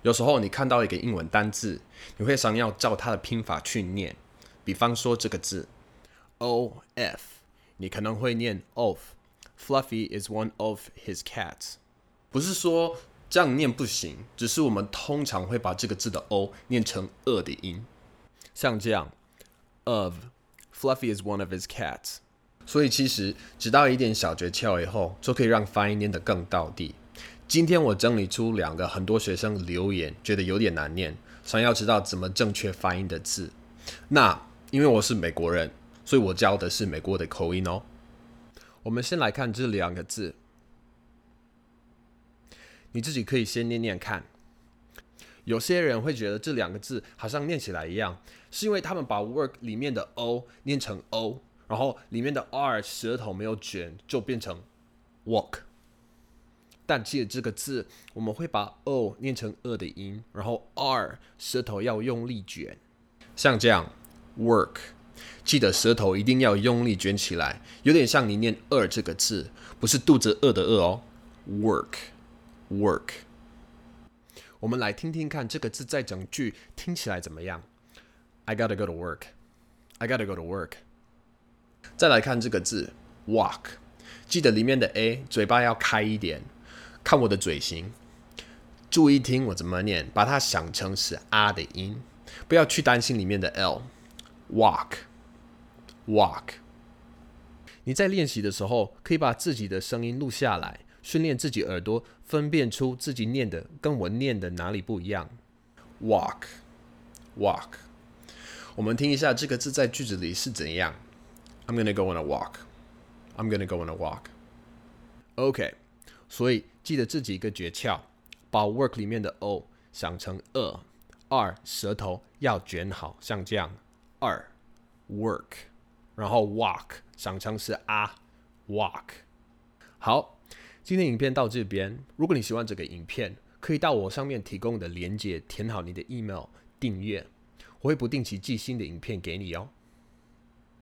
有时候你看到一个英文单字，你会想要照它的拼法去念。比方说这个字 O F， 你可能会念 Off。Fluffy is one of his cats。不是说这样念不行，只是我们通常会把这个字的 O 念成的音，像这样 of。Fluffy is one of his cats。所以其实知道一点小诀窍以后，就可以让发音念得更道地。今天我整理出2个很多学生留言觉得有点难念，想要知道怎么正确发音的字。那因为我是美国人，所以我教的是美国的口音哦。我们先来看这2个字，你自己可以先念念看。有些人会觉得这2个字好像念起来一样，是因为他们把 work 里面的 o 念成 o， 然后里面的 r 舌头没有卷，就变成 walk。但记得这个字，我们会把 o 念成的音，然后 r 舌头要用力卷，像这样 work。记得舌头一定要用力卷起来，有点像你念这个字，不是肚子饿的饿哦。work。我们来听听看这个字在整句听起来怎么样。I gotta go to work. I gotta go to work. 再来看这个字 walk， 记得里面的 a 嘴巴要开一点。看我的嘴型，注意听我怎么念，把它想成是的音，不要去担心里面的 l。walk。你在练习的时候，可以把自己的声音录下来，训练自己耳朵分辨出自己念的跟我念的哪里不一样。walk。我们听一下这个字在句子里是怎样。I'm gonna go on a walk. I'm gonna go on a walk. OK， 所以记得这几个诀窍，把 work 里面的 o 想成r 舌头要卷好，像这样work， 然后 walk 想成是walk。好，今天影片到这边，如果你喜欢这个影片，可以到我上面提供的连结填好你的 email 订阅，我会不定期寄新的影片给你哦。